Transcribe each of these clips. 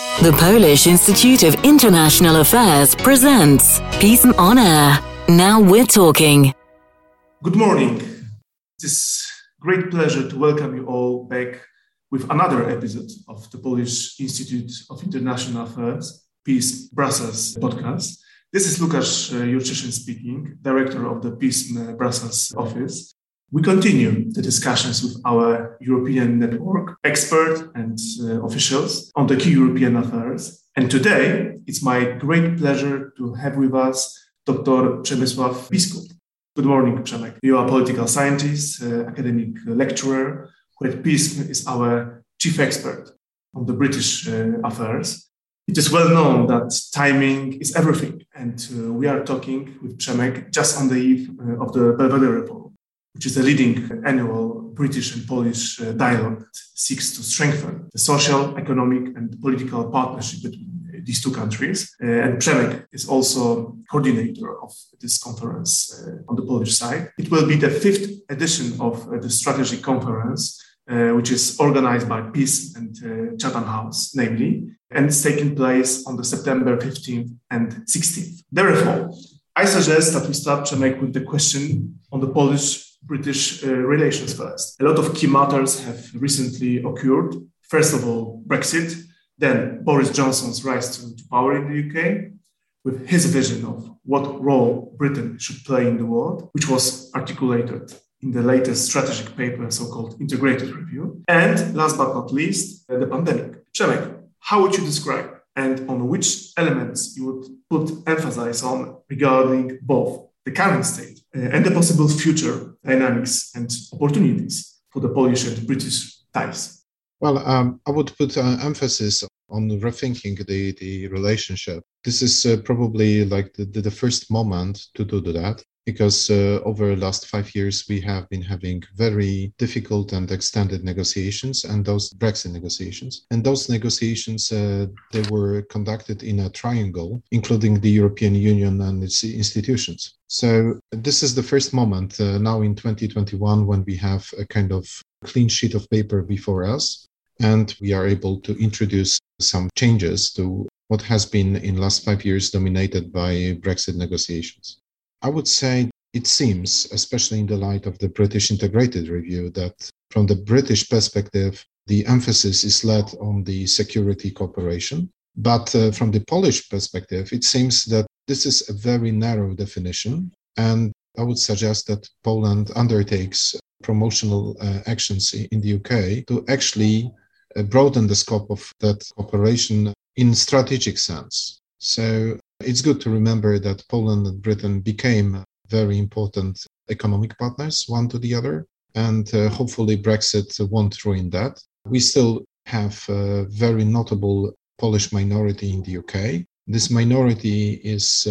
The Polish Institute of International Affairs presents Peace on Air. Now we're talking. Good morning. It is great pleasure to welcome you all back with another episode of the Polish Institute of International Affairs, Peace Brussels podcast. This is Łukasz Jurczyszyn speaking, director of the Peace Brussels office. We continue the discussions with our European network, experts and officials on the key European affairs. And today, it's my great pleasure to have with us Dr. Przemysław Biskup. Good morning, Przemek. You are a political scientist, academic lecturer, who at Peace is our chief expert on the British affairs. It is well known that timing is everything. And we are talking with Przemek just on the eve of the Belvedere Forum, which is a leading annual British and Polish dialogue that seeks to strengthen the social, economic and political partnership between these two countries. And Przemek is also coordinator of this conference on the Polish side. It will be the fifth edition of the strategic conference, which is organized by Peace and Chatham House, namely, and it's taking place on the September 15th and 16th. Therefore, I suggest that we start, Przemek, with the question on the Polish-British relations first. A lot of key matters have recently occurred. First of all, Brexit, then Boris Johnson's rise to power in the UK, with his vision of what role Britain should play in the world, which was articulated in the latest strategic paper, so-called integrated review. And last but not least, the pandemic. Przemek, how would you describe and on which elements you would put emphasis on regarding both the current state and the possible future dynamics and opportunities for the Polish and British ties? Well, I would put emphasis on rethinking the relationship. This is probably like the first moment to do that, because over the last 5 years, we have been having very difficult and extended negotiations, and those Brexit negotiations. And those negotiations, they were conducted in a triangle, including the European Union and its institutions. So this is the first moment now in 2021 when we have a kind of clean sheet of paper before us, and we are able to introduce some changes to what has been in the last 5 years dominated by Brexit negotiations. I would say it seems, especially in the light of the British integrated review, that from the British perspective, the emphasis is laid on the security cooperation. But from the Polish perspective, it seems that this is a very narrow definition. And I would suggest that Poland undertakes promotional actions in the UK to actually broaden the scope of that cooperation in strategic sense. So it's good to remember that Poland and Britain became very important economic partners, one to the other, and hopefully Brexit won't ruin that. We still have a very notable Polish minority in the UK. This minority is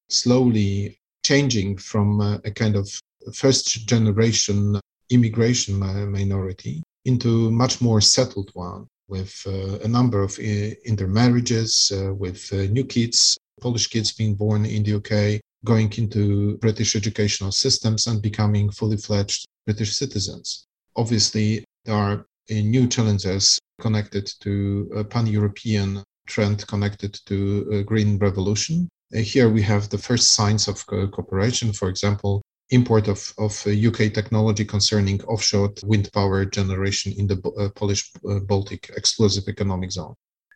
slowly changing from a kind of first generation immigration minority into much more settled one, with a number of intermarriages, with new kids, Polish kids being born in the UK, going into British educational systems and becoming fully fledged British citizens. Obviously, there are new challenges connected to a pan-European trend connected to a green revolution. Here we have the first signs of cooperation, for example, import of UK technology concerning offshore wind power generation in the Polish Baltic exclusive economic zone.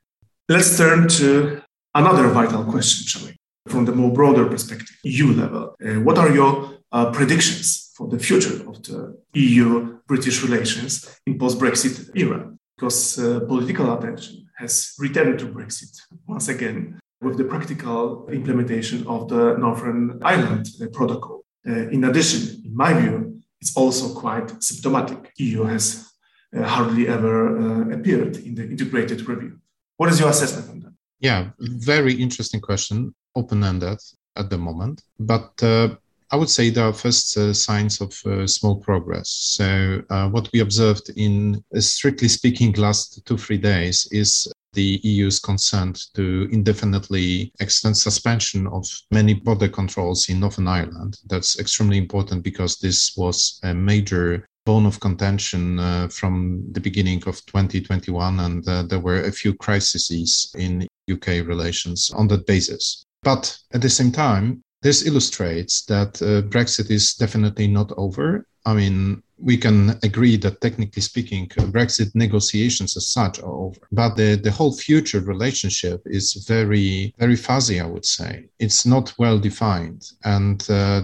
Let's turn to another vital question, shall we? From the more broader perspective, EU level. What are your predictions for the future of the EU-British relations in post-Brexit era? Because political attention has returned to Brexit once again with the practical implementation of the Northern Ireland Protocol. In addition, in my view, it's also quite symptomatic. EU has hardly ever appeared in the integrated review. What is your assessment on that? Yeah, very interesting question, open-ended at the moment. But I would say there are first signs of small progress. So what we observed in, strictly speaking, last 2-3 days is the EU's consent to indefinitely extend suspension of many border controls in Northern Ireland. That's extremely important because this was a major bone of contention from the beginning of 2021, and there were a few crises in UK relations on that basis. But at the same time, this illustrates that Brexit is definitely not over. I mean, we can agree that technically speaking, Brexit negotiations as such are over, but the whole future relationship is very, very fuzzy, I would say. It's not well defined. And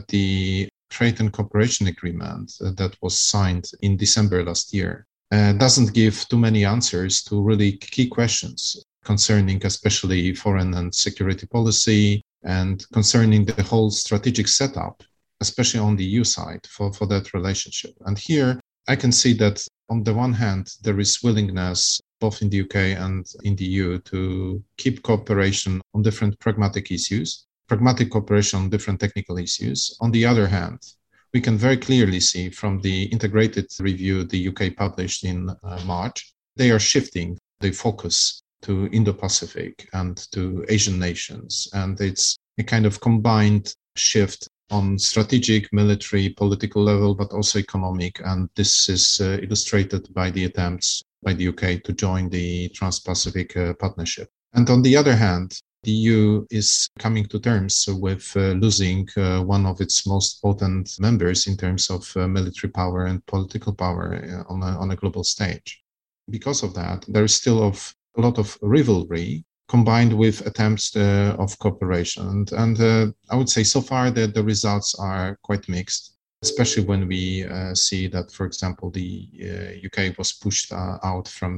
the Trade and Cooperation Agreement that was signed in December last year doesn't give too many answers to really key questions concerning especially foreign and security policy and concerning the whole strategic setup, especially on the EU side for that relationship. And here I can see that on the one hand, there is willingness both in the UK and in the EU to keep cooperation on different pragmatic issues, pragmatic cooperation on different technical issues. On the other hand, we can very clearly see from the integrated review the UK published in March, they are shifting the focus to Indo-Pacific and to Asian nations. And it's a kind of combined shift on strategic, military, political level, but also economic. And this is illustrated by the attempts by the UK to join the Trans-Pacific Partnership. And on the other hand, the EU is coming to terms with losing one of its most potent members in terms of military power and political power on a global stage. Because of that, there is still a lot of rivalry combined with attempts of cooperation. And I would say so far that the results are quite mixed, especially when we see that, for example, the UK was pushed out from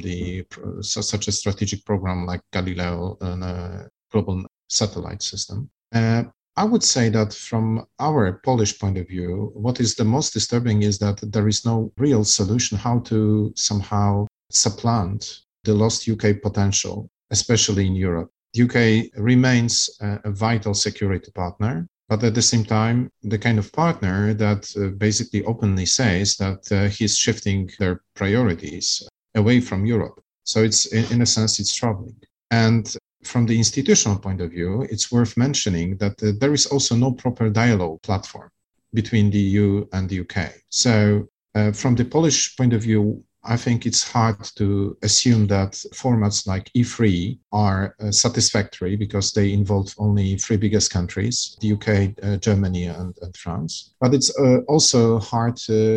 such a strategic program like Galileo, a global satellite system. I would say that from our Polish point of view, what is the most disturbing is that there is no real solution how to somehow supplant the lost UK potential, especially in Europe. The UK remains a vital security partner, but at the same time, the kind of partner that basically openly says that he's shifting their priorities away from Europe. So it's, in a sense, it's troubling. And from the institutional point of view, it's worth mentioning that there is also no proper dialogue platform between the EU and the UK. So from the Polish point of view, I think it's hard to assume that formats like E3 are satisfactory because they involve only three biggest countries, the UK, Germany, and France. But it's also hard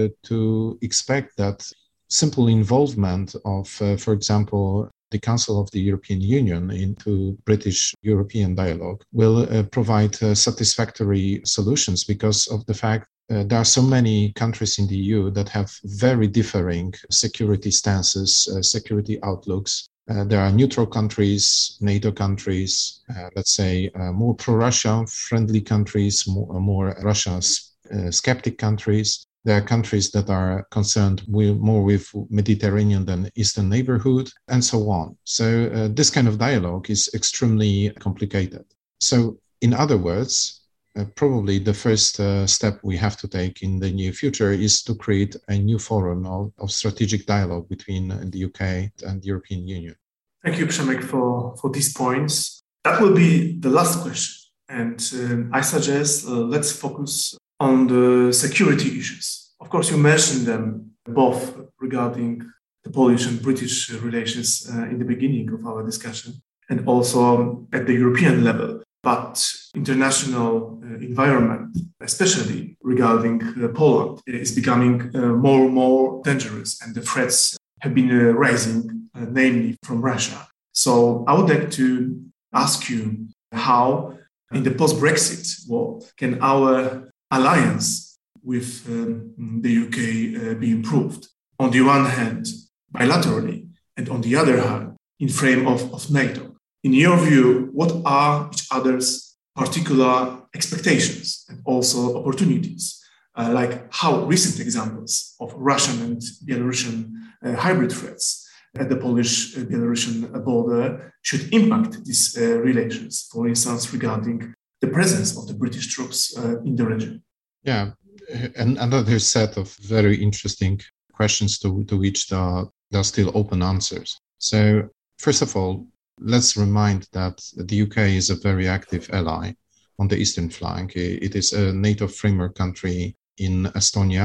to expect that simple involvement of, for example, the Council of the European Union into British-European dialogue will provide satisfactory solutions because of the fact there are so many countries in the EU that have very differing security stances, security outlooks. There are neutral countries, NATO countries, let's say more pro-Russia friendly countries, more Russia skeptic countries. There are countries that are concerned more with Mediterranean than Eastern neighborhood, and so on. So this kind of dialogue is extremely complicated. So in other words, probably the first step we have to take in the near future is to create a new forum of strategic dialogue between the UK and the European Union. Thank you, Przemek, for these points. That will be the last question. And I suggest let's focus on the security issues. Of course, you mentioned them both regarding the Polish and British relations in the beginning of our discussion, and also at the European level. But international environment, especially regarding Poland, is becoming more and more dangerous, and the threats have been rising, namely from Russia. So I would like to ask you how, in the post-Brexit world, can our alliance with the UK be improved? On the one hand, bilaterally, and on the other hand, in frame of NATO. In your view, what are each other's particular expectations and also opportunities? Like how recent examples of Russian and Belarusian hybrid threats at the Polish-Belarusian border should impact these relations, for instance, regarding the presence of the British troops in the region? Yeah, and another set of very interesting questions to which there are still open answers. So, first of all, let's remind that the UK is a very active ally on the eastern flank. It is a NATO framework country in Estonia,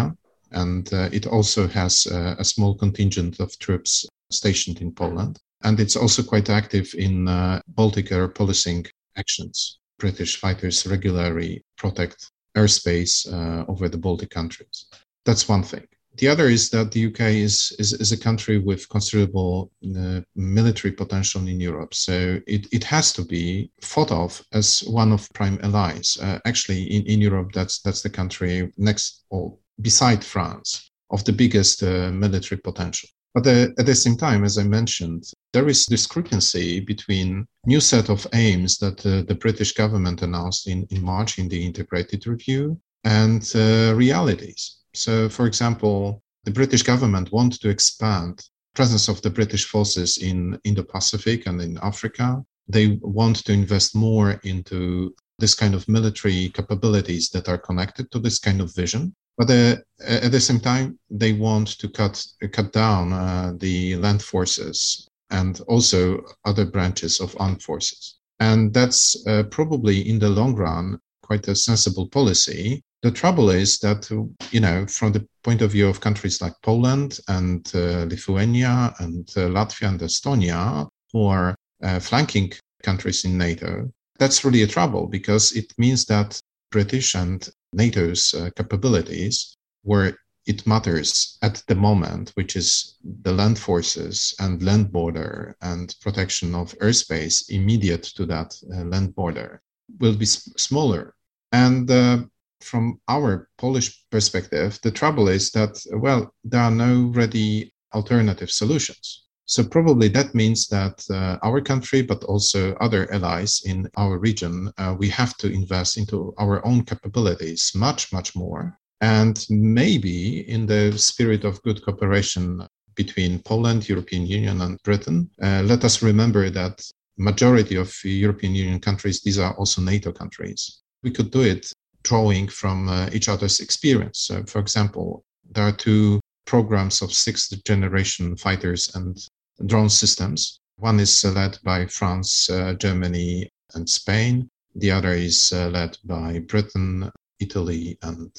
And it also has a small contingent of troops stationed in Poland. And it's also quite active in Baltic air policing actions. British fighters regularly protect airspace over the Baltic countries. That's one thing. The other is that the UK is a country with considerable military potential in Europe. So it has to be thought of as one of prime allies. Actually, in Europe, that's the country next or beside France of the biggest military potential. But at the same time, as I mentioned, there is discrepancy between new set of aims that the British government announced in March in the integrated review and realities. So, for example, the British government wants to expand presence of the British forces in Indo-Pacific and in Africa. They want to invest more into this kind of military capabilities that are connected to this kind of vision. But at the same time, they want to cut down the land forces and also other branches of armed forces. And that's probably in the long run quite a sensible policy. The trouble is that, from the point of view of countries like Poland and Lithuania and Latvia and Estonia, who are flanking countries in NATO, that's really a trouble because it means that British and NATO's capabilities, where it matters at the moment, which is the land forces and land border and protection of airspace immediate to that land border, will be smaller. And from our Polish perspective, the trouble is that, there are no ready alternative solutions. So probably that means that our country, but also other allies in our region, we have to invest into our own capabilities much, much more. And maybe in the spirit of good cooperation between Poland, European Union and Britain, let us remember that majority of European Union countries, these are also NATO countries. We could do it drawing from each other's experience. So, for example, there are two programs of sixth generation fighters and drone systems. One is led by France, Germany, and Spain. The other is led by Britain, Italy, and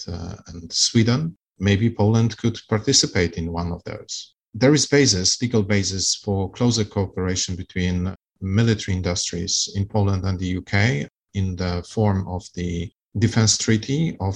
Sweden. Maybe Poland could participate in one of those. There is legal basis for closer cooperation between military industries in Poland and the UK in the form of the Defense Treaty of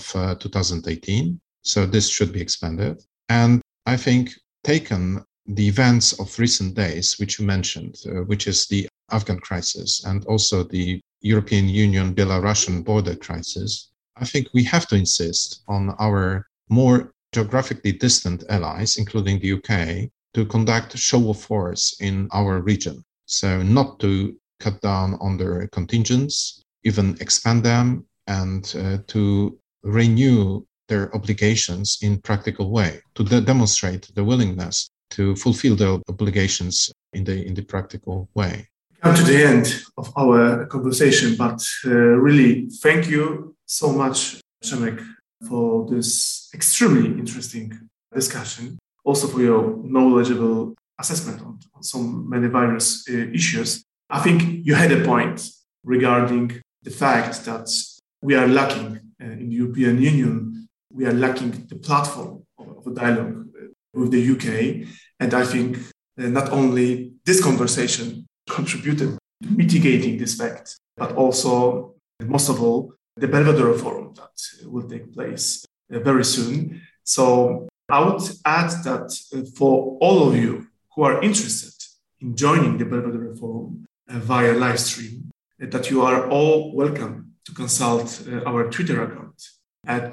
2018. So this should be expanded. And I think taken the events of recent days, which you mentioned, which is the Afghan crisis and also the European Union Belarusian border crisis, I think we have to insist on our more geographically distant allies, including the UK, to conduct show of force in our region. So not to cut down on their contingents, even expand them, and to renew their obligations in practical way, to demonstrate the willingness to fulfill their obligations in the practical way. Come to the end of our conversation, but really thank you so much, Przemek, for this extremely interesting discussion, also for your knowledgeable assessment on so many various issues. I think you had a point regarding the fact that we are lacking in the European Union, we are lacking the platform of a dialogue with the UK. And I think not only this conversation contributed to mitigating this fact, but also, most of all, the Belvedere Forum that will take place very soon. So I would add that for all of you who are interested in joining the Belvedere Forum via live stream, that you are all welcome to consult our Twitter account at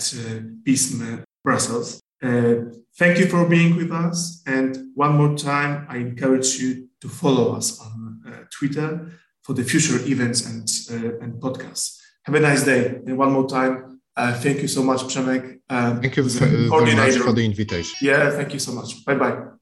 PISM Brussels. Thank you for being with us. And one more time, I encourage you to follow us on Twitter for the future events and podcasts. Have a nice day. And one more time, thank you so much, Przemek. Thank you very much for the invitation. Yeah, thank you so much. Bye-bye.